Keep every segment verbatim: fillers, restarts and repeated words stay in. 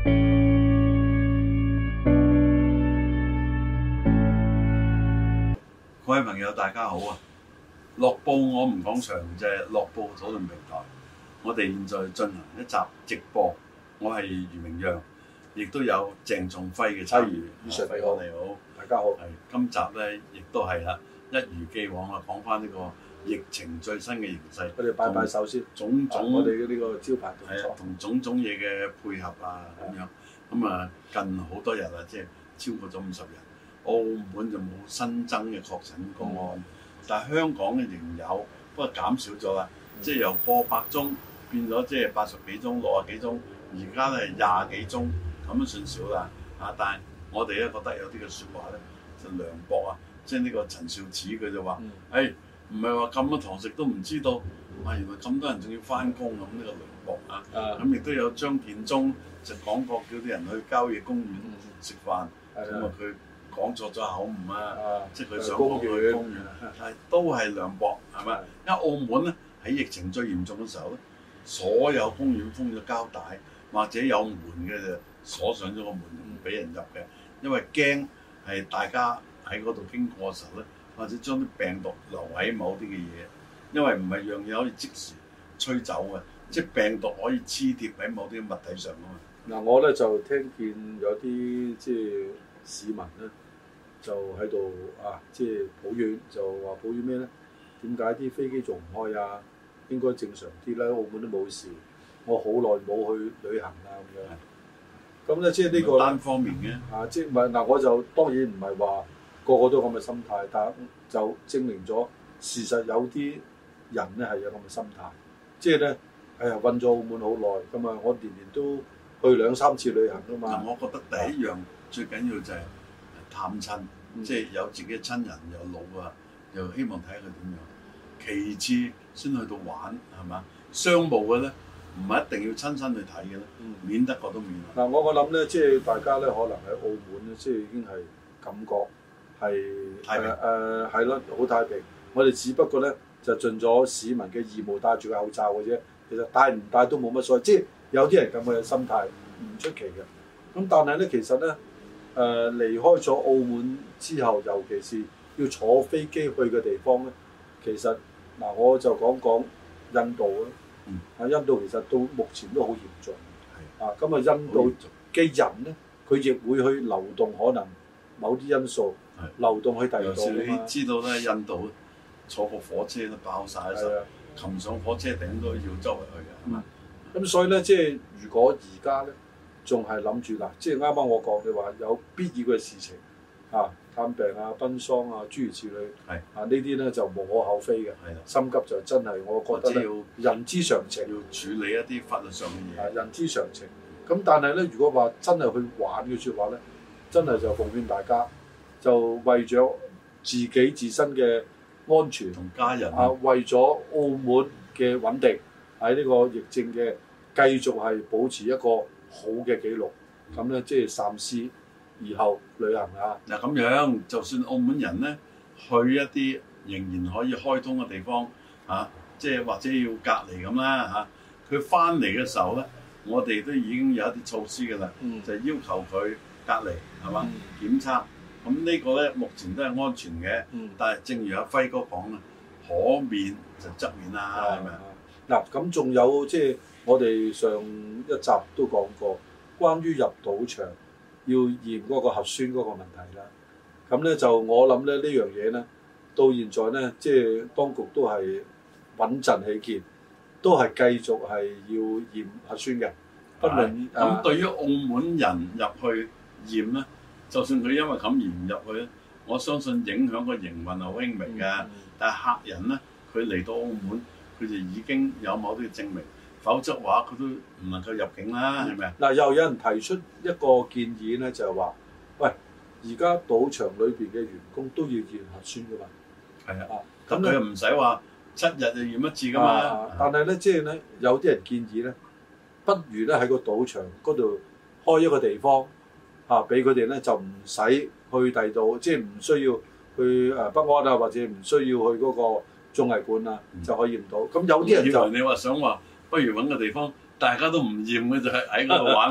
各位朋友，大家好啊！樂報我們講場就係樂報討論平台，我哋現在進行一集直播。我係余明陽，亦都有鄭仲輝嘅參與。余 Sir 你好，你好， 大家好。 係今集咧，亦都係啦，一如既往啊，講翻呢個疫情最新嘅形勢。 我哋擺擺手先， 種種我哋嘅呢個招牌動作， 係啊，同種種嘢嘅配合啊，咁樣咁啊，近好多日啦，即係超過咗五十日。澳門就冇新增嘅確診個案，嗯、但係香港嘅仍有，不過減少咗啦，嗯、即係由過百宗變咗即係八十幾宗、六十幾宗，而家咧廿幾宗，咁都算少啦。啊，但係我哋咧覺得有啲嘅説話咧就涼薄啊，即係呢個陳肇始佢就話：誒唔係話禁咗堂食都唔知道，啊原來咁多人仲要翻工咁，呢個涼薄啊。咁亦都有張建宗就講過叫啲人去郊野公園食飯，咁啊佢。講錯咗口誤啊！啊即係佢想講去公園，係都係涼薄，係咪？因為澳門咧喺疫情最嚴重嘅時候咧，所有公園封咗膠帶，或者有門嘅就鎖上咗個門，唔俾人入嘅，因為驚係大家喺嗰度經過嘅時候咧，或者將啲病毒留喺某啲嘅嘢，因為唔係樣嘢可以即時吹走嘅，即係病毒可以黐貼喺某啲物體上啊嘛。嗱， 我咧就聽見有啲即係市民咧。就喺度啊，即係抱怨，就話抱怨咩咧？點解啲飛機仲唔開啊？應該正常啲啦，澳門都冇事。我好耐冇去旅行啦咁樣。咁咧即係呢個單方面嘅啊，即係唔係嗱？我就當然唔係話個個都咁嘅心態，但就證明咗事實有啲人咧係有咁嘅心態。即係咧，哎呀，韞咗澳門好耐，咁啊，我年年都去兩三次旅行啊嘛。 嗱，我覺得第一樣、啊、最緊要就係探親。即係有自己嘅親人又老啊，又希望睇下佢點樣。其次先去到玩係嘛？商務嘅咧，唔係一定要親身去睇嘅咧，嗯、免得過都免。 嗱、嗯，我我諗咧，即係大家咧，可能喺澳門咧，即係已經係感覺係太平誒係咯，好、呃、太平。我哋只不過咧就盡咗市民嘅義務，戴住個口罩嘅啫。其實戴唔戴都冇乜所謂。即係有啲人咁嘅心態唔出奇嘅。咁但係咧，其實咧。誒、呃、離開咗澳門之後，尤其是要坐飛機去嘅地方咧，其實嗱、呃、我就講講印度啦。嗯。啊，印度其實到目前都好嚴重。係的。啊，咁啊，印度嘅人咧，佢亦會去流動，可能某啲因素的流動去第二度。 你知道咧，印度坐個火車都爆晒，嘅時候，擒上火車頂都要周圍去嘅，係嘛？ 咁、嗯、所以咧，即係如果而家咧。仲係諗住嗱，即係啱啱我講嘅話，有必要嘅事情啊，探病啊、奔喪啊，諸如此類，係啊，呢啲咧就無可厚非嘅。係啦，心急就真係我覺得咧，人之常情， 要處理一啲法律上嘅嘢。 啊，人之常情。咁但係咧，如果話真係去玩嘅説話咧，真係就奉勸大家，就為咗自己自身嘅安全同家人啊，為咗澳門嘅穩定喺呢個疫症嘅繼續係保持一個好嘅記錄，咁咧即係三思而後旅行啊！ 嗱咁樣，就算澳門人咧去一啲仍然可以開通嘅地方嚇，即、啊、係或者要隔離咁啦嚇，佢翻嚟嘅時候咧，我哋都已經有一啲措施㗎啦，嗯、就要求佢隔離係嘛、嗯、檢測，咁呢個咧目前都係安全嘅，嗯、但係正如阿輝哥講啦，可免就則免啦，係咪啊？ 嗱咁仲有即係。我哋上一集都講過，關於入賭場要驗嗰個核酸嗰個問題啦。咁咧就我諗咧呢樣嘢咧，到現在咧即係當局都係穩陣起見，都係繼續係要驗核酸嘅。不論咁、啊、對於澳門人入去驗咧，就算佢因為咁而唔入去咧，我相信影響個營運係好輕微嘅。嗯、但係客人咧，佢嚟到澳門，佢就已經有某啲嘅證明。否則話佢都唔能夠入境啦，係咪啊？嗱， 又有人提出一個建議咧，就係話：喂，而家賭場裏邊嘅員工都要驗核酸噶嘛？ 係啊，咁佢又唔使話七日就驗一次噶嘛。 啊、但係咧，即係咧，有啲人建議咧，不如咧喺個賭場嗰度開一個地方嚇，俾佢哋咧就唔使去第度，即係唔需要去誒北安啊，或者唔需要去嗰個綜藝館啊，嗯、就可以驗到。咁有啲人就以為你話想話。不如揾個地方，大家都唔驗嘅就係喺嗰度玩啦。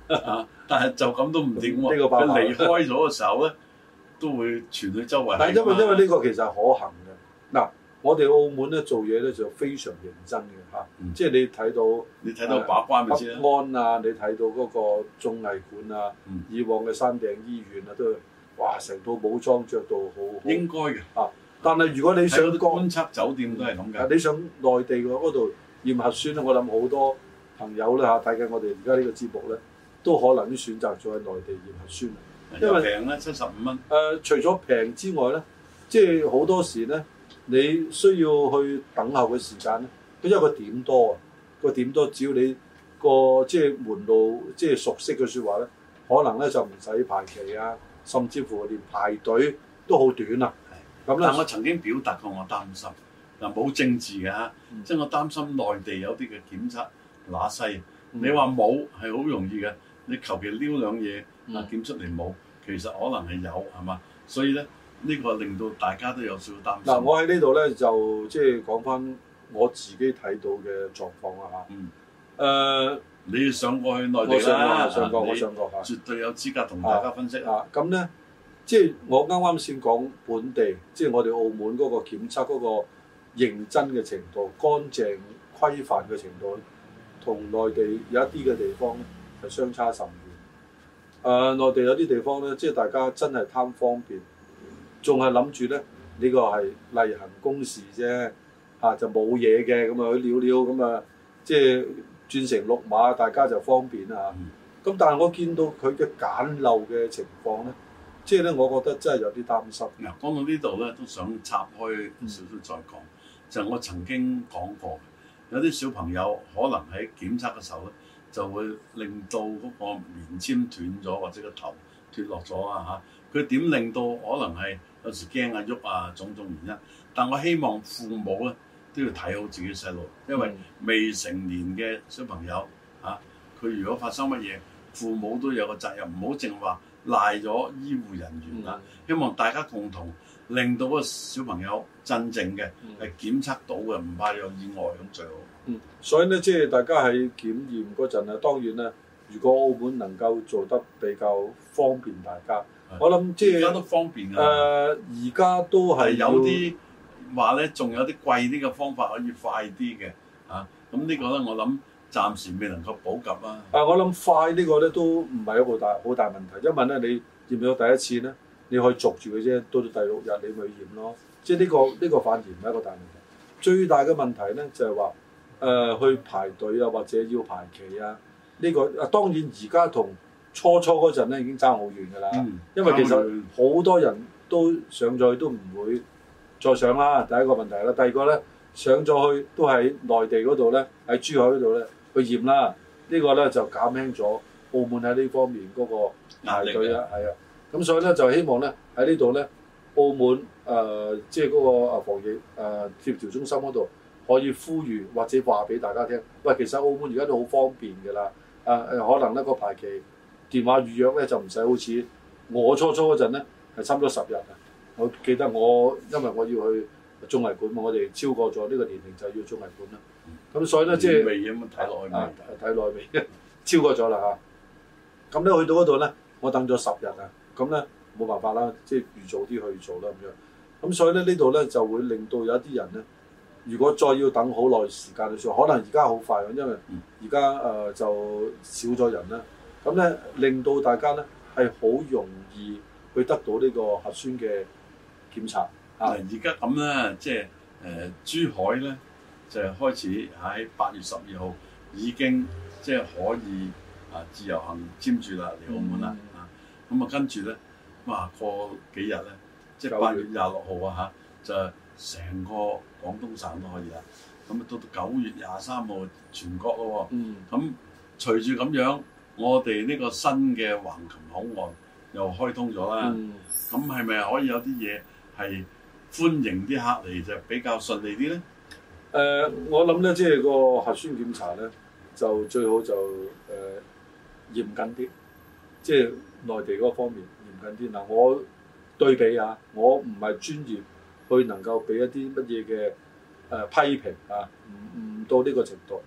啊，但係就咁都唔掂喎。 呢個爆佢離開咗嘅時候咧，都會傳去周圍。 但係因為因為呢個其實係可行嘅。嗱，我哋澳門咧做嘢咧就非常認真嘅嚇， 嗯、 即係你睇到你睇到把關咪知啦。 北安啊，你睇到嗰個綜藝館啊， 嗯、 以往嘅山頂醫院啊，都哇成套武裝着到好。 應該嘅啊，但係如果你想觀察酒店都係咁嘅。 你上內地嗰度驗核酸咧，我諗好多朋友咧嚇睇緊我哋而家呢個節目咧，都可能都選擇咗喺內地驗核酸。 因為平咧七十五蚊。誒、 呃，除咗平之外咧，即係好多時咧，你需要去等候嘅時間咧，因為個點多啊，個點多，只要你個即係門路即係熟悉嘅説話咧，可能咧就唔使排期啊，甚至乎連排隊都好短啊。咁咧， 但我曾經表達過我擔心，嗱冇政治嘅嚇，嗯、即係我擔心內地有啲嘅檢測乸西，嗯、你話冇係好容易嘅，你求其撩兩嘢啊檢出嚟冇，其實可能係有係嘛，所以咧呢、呢個令到大家都有少少擔心。嗱， 我喺呢度咧就即係講翻我自己睇到嘅狀況啦嚇。嗯。誒、呃， 你上過去內地啦？ 上過，我上過嚇。 絕對有資格同大家分析啊。咁咧。即係我啱啱先講本地，即係我哋澳門嗰個檢測嗰個認真嘅程度、乾淨規範嘅程度，同內地有一啲嘅地方咧係相差甚遠。誒、呃，內地有啲地方咧，即係大家真係貪方便，仲係諗住咧呢個係例行公事啫，嚇、啊、就冇嘢嘅咁啊，去撩撩咁啊，即係轉成綠碼，大家就方便啊。咁、嗯、但係我見到佢嘅簡陋嘅情況咧。即係咧，我覺得真係有啲擔心。 嗱，講到呢度咧，都想插開少少再講。嗯、就係我曾經講過，有啲小朋友可能喺檢測嘅時候咧，就會令到嗰個棉簽斷咗，或者個頭脱落咗啊嚇。佢點令到可能係有時驚啊喐啊種種原因。但我希望父母咧都要睇好自己細路，因為未成年嘅小朋友嚇，佢、啊、如果發生乜嘢，父母都有個責任，唔好淨話賴咗醫護人員啦，嗯、希望大家共同令到個小朋友真正嘅係檢測到嘅，唔怕有意外咁最好。 嗯，所以咧，即係大家喺檢驗嗰陣啊，當然咧，如果澳門能夠做得比較方便大家，的我諗即係而家都方便㗎。誒、呃，而家都係有啲話咧，仲有啲貴啲嘅方法可以快啲嘅啊。咁呢個咧，我諗。暫時未能夠普及啊！ 啊，我諗快呢個咧都唔係一個大好大問題，因為咧你驗咗第一次咧，你可以續住佢啫，到到第六日你咪驗咯。即係、呢、呢個呢、呢個反而唔係一個大問題。最大嘅問題咧就係話誒去排隊啊，或者要排期啊。呢、呢個啊當然而家同初初嗰陣咧已經爭好遠㗎啦。嗯、因為其實好多人都上咗去都唔會再上啦。第一個問題啦，第二個咧上咗去都喺內地嗰度咧，喺珠海嗰度咧。去驗啦，這個、呢個咧就減輕咗澳門喺呢方面嗰個排隊啦，係啊，咁所以咧就希望咧喺呢度咧，澳門誒即係嗰個啊防疫誒、呃、協調中心嗰度可以呼籲或者話俾大家聽，喂，其實澳門而家都好方便㗎啦，誒、呃、誒可能咧個排期電話預約咧就唔使好似我初初嗰陣咧係差唔多十日啊，我記得我因為我要去綜藝館嘛，我哋超過咗呢個年齡就要綜藝館啦。咁所以咧，即係睇落去啊，睇落去未超過咗啦嚇。咁咧去到嗰度咧，我等咗十日啊。咁咧冇辦法啦，即係預早啲去做啦咁樣。咁所以咧呢度咧就會令到有一啲人咧，如果再要等好耐時間去做，可能而家好快，因為而家誒就少咗人啦。咁咧令到大家咧係好容易去得到呢個核酸嘅檢查啊。 而家咁咧，即係誒珠海咧。就係開始喺八月十二號已經即係可以啊自由行簽注啦嚟澳門啦啊，咁啊跟住咧哇過幾日咧即係八月廿六號啊嚇，就成個廣東省都可以啦。咁啊到到九月廿三號全國咯喎。咁、嗯、隨住咁樣，我哋呢個新嘅橫琴口岸又開通咗啦。咁係咪可以有啲嘢係歡迎啲客嚟就比較順利啲咧？ 誒、呃，我諗咧，即係個核酸檢查咧，就最好就誒、呃、嚴謹啲，即係內地嗰方面嚴謹啲。嗱，我對比下，我唔係專業去能夠俾一啲乜嘢嘅誒批評啊，唔唔到呢個程度。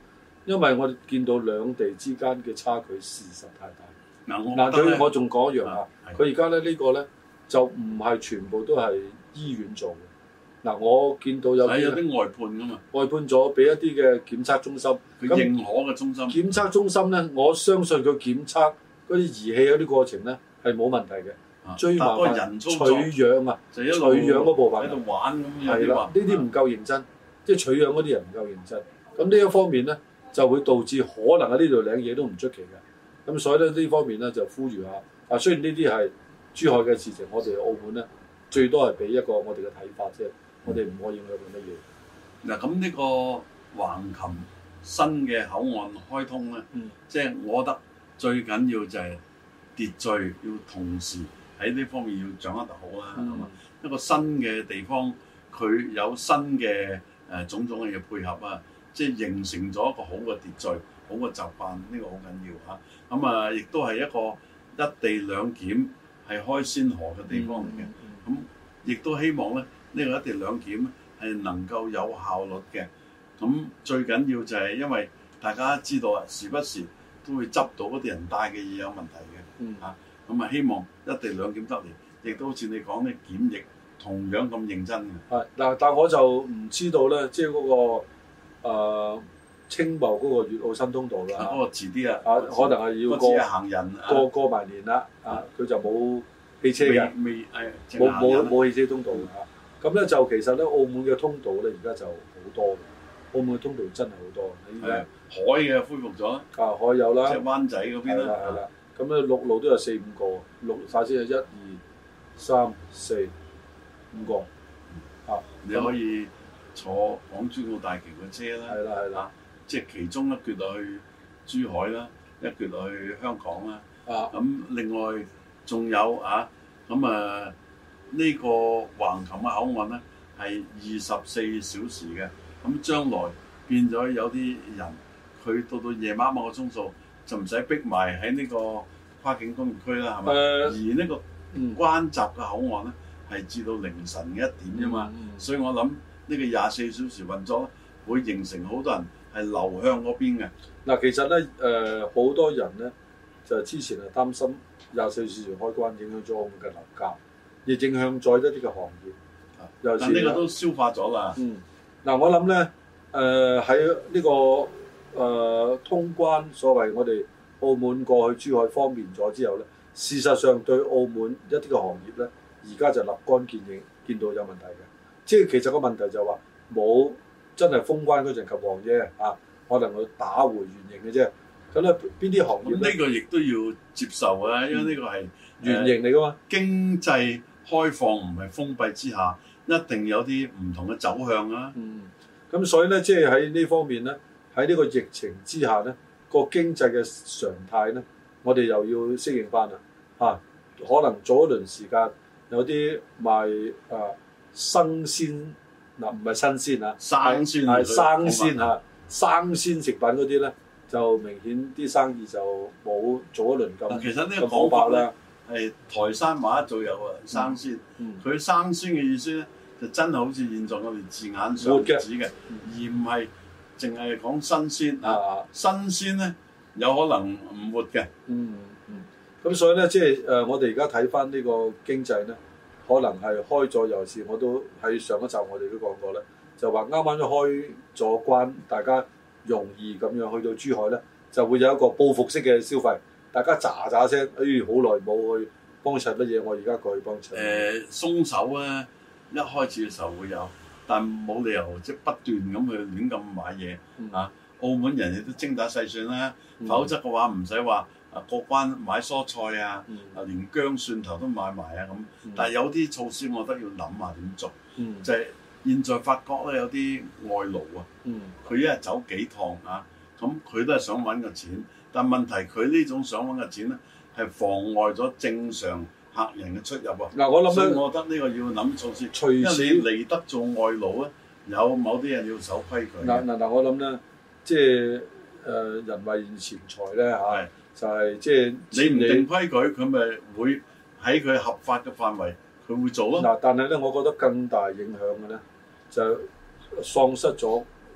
因為我哋見到兩地之間嘅差距事實太大。 嗱，我嗱佢我仲講一樣啊，佢而家咧呢個咧就唔係全部都係醫院做嘅。嗱，我見到有啲有啲外判㗎嘛， 外判咗俾一啲嘅檢測中心， 佢認可嘅中心。 檢測中心咧，我相信佢檢測嗰啲儀器嗰啲過程咧係冇問題嘅。最麻煩人取樣啊，取樣嗰部分喺度玩咁樣。 係啦，呢啲唔夠認真，即係取樣嗰啲人唔夠認真。咁呢一方面咧，就會導致可能喺呢度領嘢都唔出奇嘅。咁所以咧呢方面咧就呼籲下。啊，雖然呢啲係珠海嘅事情，我哋澳門咧最多係俾一個我哋嘅睇法啫，我哋唔可以影響佢乜嘢。 嗱，咁呢個橫琴新嘅口岸開通咧，即係、嗯、我覺得最緊要就係秩序要同時喺呢方面要掌握得好啦，係嘛、嗯？一個新嘅地方，佢有新嘅誒種種嘅嘢配合啊，即係形成咗一個好嘅秩序、好嘅習慣，呢、這個好緊要嚇。咁啊，亦都係一個一地兩檢係開先河嘅地方嚟嘅。咁亦、嗯嗯、都希望咧，呢、這個一地兩檢係能夠有效率嘅。咁最緊要就係因為大家知道啊，時不時都會執到嗰啲人帶嘅嘢有問題嘅。嗯嚇。咁啊，希望一地兩檢得嚟，亦都好似你講咧，檢疫同樣咁認真嘅。係嗱，但我就唔知道咧，即係嗰個誒青茂嗰個粵澳新通道啦。嗰個遲啲啊，啊可能係要過行人過過埋年啦。啊，佢就冇汽車嘅， 未誒冇冇冇汽車通道嘅。咁咧就其實咧，澳門嘅通道咧而家就好多嘅。澳門嘅通道真係好多。 係海嘅恢復咗。啊， 海有啦。 即係灣仔嗰邊啦。 係啦。咁咧陸路都有四五個，陸首先係一二三四五個，啊， 你可以坐港珠澳大橋嘅車啦， 係啦係啦， 即係其中一橛落去珠海啦，一橛落去香港啦，啊，咁另外仲有啊，咁啊呢個橫琴嘅口岸咧係二十四小時嘅，咁將來變咗有啲人佢到到夜晚某個鐘數。就唔使逼埋喺呢個跨境工業區啦，係咪？呃、而呢個關閘嘅口岸咧，係至到凌晨嘅一點啫嘛。嗯嗯、所以我諗呢個廿四小時運作會形成好多人係流向嗰邊嘅。嗱， 其實咧誒，好、呃、多人咧就之前係擔心廿四小時開關影響咗我們嘅樓價，亦影響咗一啲嘅行業。 尤其是但呢個都消化咗啦。 嗯，嗱、呃，我諗咧誒喺呢個。誒、呃、通關所謂我哋澳門過去珠海方便咗之後咧，事實上對澳門一啲嘅行業咧，而家就立竿見影，見到有問題嘅。即係其實個問題就話冇真係封關嗰陣及旺啫，啊，可能佢打回原形嘅啫。咁咧邊啲行業呢？ 呢個亦都要接受啊，因為呢個係原形嚟噶嘛、呃。 經濟開放唔係封閉之下，一定有啲唔同嘅走向啊。 嗯，咁所以咧，即係喺呢方面咧。喺呢個疫情之下咧，個經濟嘅常態咧，我哋又要適應翻啦。嚇、啊，可能早一輪時間有啲賣啊生鮮嗱，唔係新鮮啊， 生鮮係生鮮嚇，生鮮食品嗰啲咧，就明顯啲生意就冇早一輪咁。 其實呢個講法咧係台山話做有啊，生鮮。佢、嗯、生鮮嘅意思咧，就真係好似現在我哋字眼上指嘅，嗯、而唔係。淨係講新鮮啊！新鮮咧有可能唔活嘅。 嗯嗯。咁所以咧，即係誒，我哋而家睇翻呢個經濟咧，可能係開咗，尤其是我都喺上一集我哋都講過咧，就話啱啱都開咗關，大家容易咁樣去到珠海咧，就會有一個報復式嘅消費，大家喳喳聲，哎，好耐冇去幫襯乜嘢，我而家過去幫襯。誒、 呃，鬆手啊！一開始嘅時候會有。但冇理由即係不斷咁去亂咁買嘢、嗯、啊！澳門人亦都精打細算啦，嗯、否則嘅話唔使話啊過關買蔬菜啊，嗯、啊連薑蒜頭都買埋啊咁。嗯、但係有啲措施我覺得要諗下點做，嗯、就係現在發覺咧有啲外勞啊，佢、嗯、一日走幾趟啊，咁佢都係想揾個錢，但問題佢呢種想揾嘅錢咧係妨礙咗正常客人嘅出入啊！嗱，我諗咧，我覺得呢個要諗措施，隨時因為你嚟得做外勞咧，有某啲人要守規矩。 嗱嗱嗱，我諗咧，即係誒、呃、人為錢財咧嚇，是就係即係你唔定規矩，佢咪會喺佢合法嘅範圍，佢會做咯。 嗱，但係咧，我覺得更大影響嘅咧，就喪失咗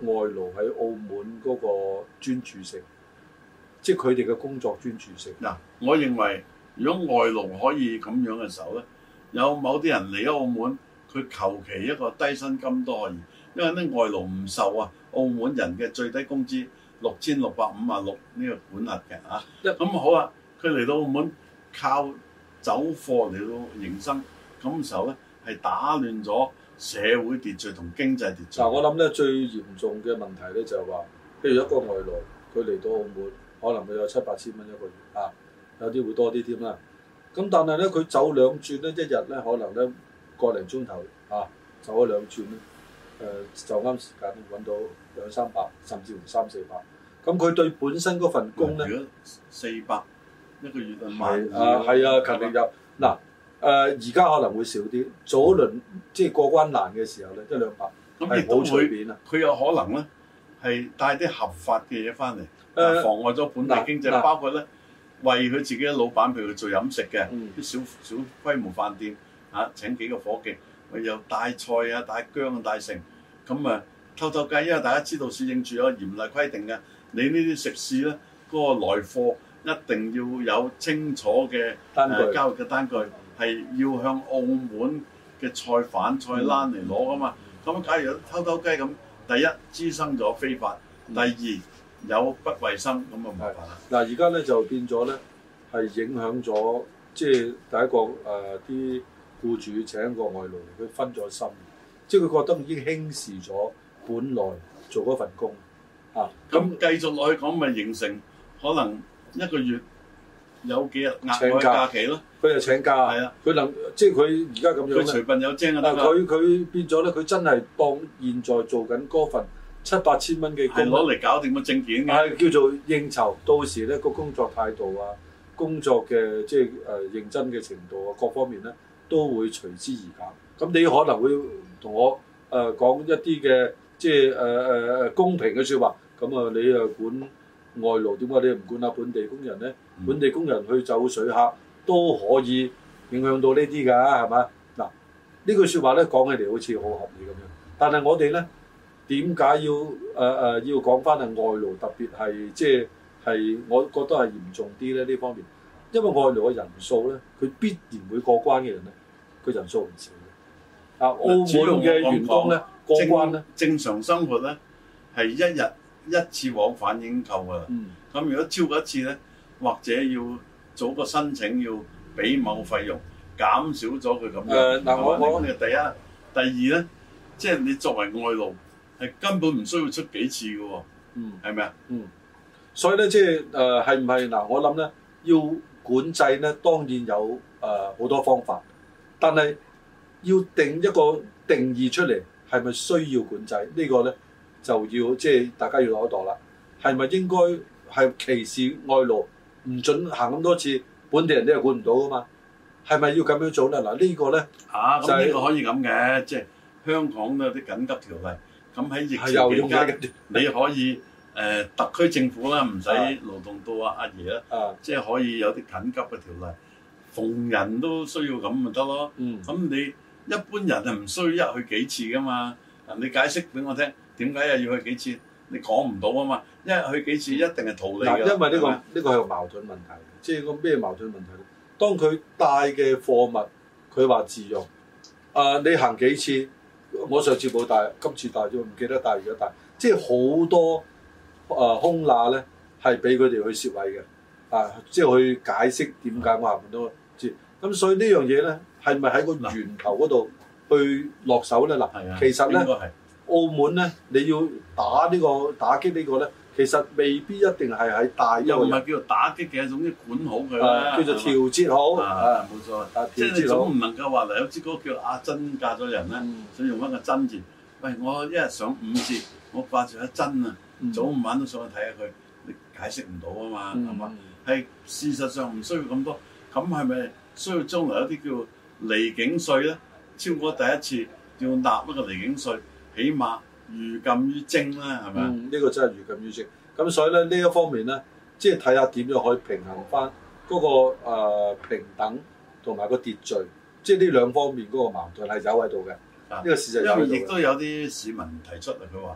外勞喺澳門嗰個專注性，即係佢哋嘅工作專注性。 嗱，我認為如果外勞可以咁樣嘅時候咧，有某啲人嚟咗澳門，佢求其一個低薪金都可以，因為咧外勞唔受啊澳門人嘅最低工資六千六百五啊六呢個管轄嘅嚇。咁、嗯、好啊，佢嚟到澳門靠走貨嚟到營生，咁嘅時候咧係打亂咗社會秩序同經濟秩序。 嗱，我諗咧最嚴重嘅問題咧就係話，譬如一個外勞佢嚟到澳門，可能佢有七八千蚊一個月啊，有啲會多啲添啦。咁但係咧佢走兩轉咧，一日咧可能咧個零鐘頭啊，走咗兩轉咧，誒、呃、就啱時間揾到兩三百，甚至乎三四百。咁佢對本身嗰份工咧， 如果四百一個月係啊係啊，勤力有嗱。誒而家可能會少啲，早一輪即係過關難嘅時候咧，一兩百咁亦都會，佢有可能咧係帶啲合法嘅嘢翻嚟，呃、妨礙咗本地經濟，呃、包括咧為佢自己嘅老闆，譬如佢做飲食嘅啲、嗯、小小規模飯店嚇、啊，請幾個夥計，佢又帶菜啊、帶薑啊、帶成，咁啊偷偷雞，因為大家知道市政署有嚴厲規定嘅，你呢啲食肆咧嗰、那個來貨一定要有清楚嘅單據、呃、交易嘅單據。係要向澳門嘅菜販、菜欄嚟攞噶嘛？咁、嗯、假如偷偷雞咁，第一滋生咗非法，嗯、第二有不衞生，咁啊唔係啦。 嗱，而家咧就變咗咧，係影響咗，即係第一個誒啲僱主請一個外勞，佢分咗心，即係佢覺得已經輕視咗本來做嗰份工啊。 咁繼續落去講，咪形成可能一個月有幾日額外假期咯？ 佢又請假，係啊！佢能即係佢而家咁樣咧， 佢隨便有精啊！ 但係佢佢變咗咧，佢真係當現在做緊嗰份七八千蚊嘅工， 攞嚟搞掂個證件嘅， 係叫做應酬。到時咧個工作態度啊，工作嘅即係誒、呃、認真嘅程度啊，各方面咧都會隨之而減。咁你可能會同我誒、呃、講一啲嘅即係誒誒誒公平嘅説話。咁啊，你誒管外勞點解你唔管下本地工人咧？嗯、本地工人去走水客。都可以影響到呢啲㗎，係嘛？嗱，呢句説話咧講起嚟好似好合理咁樣，但係我哋咧點解要誒誒、呃、要講翻係外勞，特別係即係係我覺得係嚴重啲咧呢方面，因為外勞嘅人數咧，佢必然會過關嘅人咧，佢人數唔少嘅。啊，澳門嘅員工咧過關咧， 正常生活咧係一日一次往返已經夠㗎啦。嗯，咁如果超過一次咧，或者要做個申請要俾某個費用，減少咗佢咁樣。誒嗱、呃，我我講嘅第一，第二咧，即係你作為外勞，係根本唔需要出幾次嘅喎。嗯，係咪啊？ 嗯，所以咧，即係誒係唔係嗱？我諗咧，要管制咧，當然有誒好、呃、多方法，但係要定一個定義出嚟，係咪需要管制、這個、呢個咧，就要即係大家要攞一度啦。係咪應該係歧視外勞？唔准行咁多次，本地人都係管唔到噶嘛？係咪要咁樣做咧？嗱，呢個咧嚇，咁呢個可以咁嘅，即係香港都有啲緊急條例。咁喺疫情期間，你可以誒特區政府啦，唔使勞動到阿阿爺啦，即係可以有啲緊急嘅條例，逢人都需要咁咪得咯。咁你一般人係唔需要一去幾次噶嘛？嗱，你解釋俾我聽，點解又要去幾次？你講唔到啊嘛，一去幾次一定係逃離㗎。 因為呢個呢個係個矛盾問題，即係個咩矛盾問題咧？當佢帶嘅貨物，佢話自用，啊你行幾次？我上次冇帶，今次帶咗，唔記得帶，而家帶，即係好多啊空罅咧，係俾佢哋去攝位嘅，啊即係去解釋點解我行唔到知。咁所以呢樣嘢咧，係咪喺個源頭嗰度去落手咧？嗱，其實咧。澳門咧，你要打呢、這個打擊呢個咧，其實未必一定係喺大又唔係叫做打擊嘅，總之管好佢啦、 啊，叫做調節好啊，冇錯。啊、即係你總唔能夠話嚟有支歌叫阿珍嫁咗人咧，嗯、想用翻個珍字。喂，我一日上五次，我掛住阿珍啊，嗯、早午晚都上去睇下佢，你解釋唔到啊嘛，係嘛、嗯？係事實上唔需要咁多，咁係咪需要將來有啲叫離境稅咧？超過第一次要納一個離境稅。起碼寓禁於徵啦，係咪啊？ 嗯，呢、這個真係寓禁於徵。咁所以咧，呢一方面咧，即係睇下點樣可以平衡翻嗰、那個、呃、平等同埋個秩序，即係呢兩方面嗰個矛盾係有喺度嘅。呢、啊、個事實有喺度。 因為亦都有啲市民提出嚟，佢話：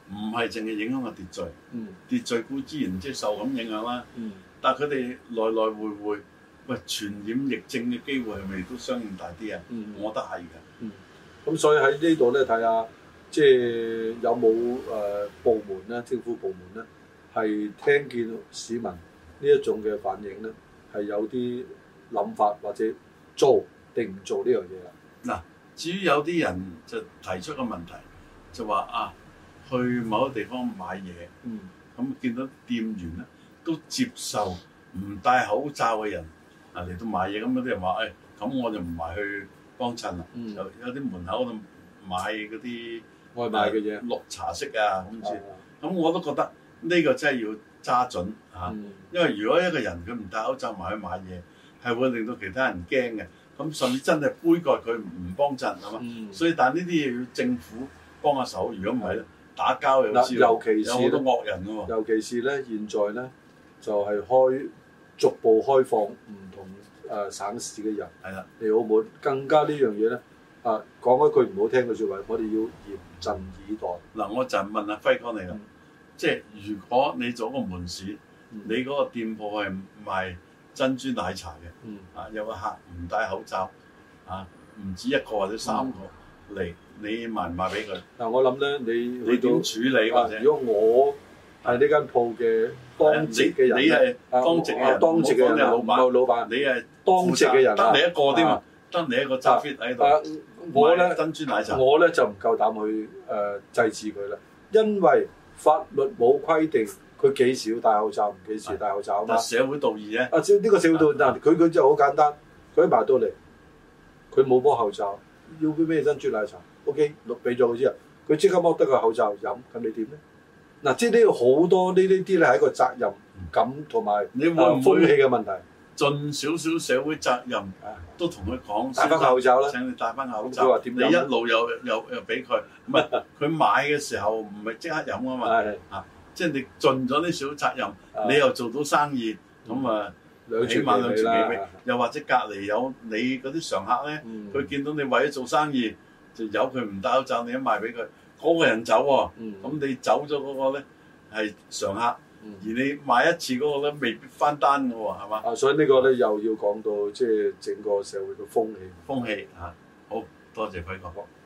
唔係淨係影響個秩序， 嗯， 秩序固之然即係受咁影響啦。 嗯， 但係佢哋來來回回，喂，傳染疫症嘅機會係咪都相應大啲啊？ 嗯， 我覺得係嘅。 嗯，咁所以喺呢度咧睇下，即係有冇誒、呃、部門咧，政府部門咧係聽見市民呢一種嘅反應咧，係有啲諗法或者做定唔做呢樣嘢啦。 嗱，至於有啲人就提出個問題，就話啊，去某個地方買嘢， 嗯， 咁見到店員咧都接受唔戴口罩嘅人啊嚟到買嘢，咁有啲人話誒，咁、哎、我就唔埋去幫襯啦。 嗯、 有有啲門口度買嗰啲外賣嘅嘢， 綠茶色啊咁先。咁、 啊、 我都覺得呢個真係要揸準嚇， 嗯、 因為如果一個人佢唔戴口罩埋去買嘢，係會令到其他人驚嘅。咁甚至真係杯葛佢唔幫襯係嘛？嗯、所以但係呢啲嘢要政府幫下手，如果唔係咧，打交又知道， 尤其是有好多惡人㗎喎。 尤其是咧，現在咧就係、是、開逐步開放唔同誒、呃、省市嘅人係啦嚟澳門，更加呢樣嘢咧啊講一句唔好聽嘅説話，我哋要嚴陣以待。 嗱，我就問阿輝哥你啦，嗯、即係如果你做個門市，嗯、你嗰個店鋪係賣珍珠奶茶嘅，嗯、啊有個客唔戴口罩，啊唔止一個或者三個嚟，嗯、你賣唔賣俾佢？ 嗱，我諗咧，你你點處理或者？ 如果我係呢間鋪嘅當值嘅人， 你係當值嘅人， 當值嘅人，老闆，老闆， 你係當值嘅人， 得你一個添啊，得你一個揸 fit 喺度。 我咧珍珠奶茶， 我咧就唔夠膽去誒制止佢啦，因為法律冇規定。佢幾時要戴口罩，唔幾時戴口罩啊嘛？ 社會道義啫。 啊，呢個社會道義，但佢佢就好簡單，佢一埋到嚟，佢冇摸口罩，要杯咩珍珠奶茶 ，OK，錄俾咗佢之後，佢即刻剝得個口罩飲，咁你點咧？嗱，即係呢個好多呢呢啲咧係一個責任感同埋你會唔會風氣嘅問題， 盡少少社會責任，都同佢講戴翻口罩啦， 請你戴翻口罩。你一路又又又俾佢，唔係佢買嘅時候唔係即刻飲啊嘛，啊。即係你盡咗啲小責任，啊、你又做到生意，咁、嗯、啊，起碼兩全其美。又或者隔離有你嗰啲常客咧，佢、嗯、見到你為咗做生意，就由佢唔戴口罩，你一賣俾佢，嗰、那個人走喎、啊，咁、嗯、你走咗嗰個咧係常客，嗯、而你買一次嗰個咧未必翻單嘅喎，係嘛？啊， 所以個呢個咧又要講到即係整個社會嘅風氣。 風氣啊，好多謝輝哥。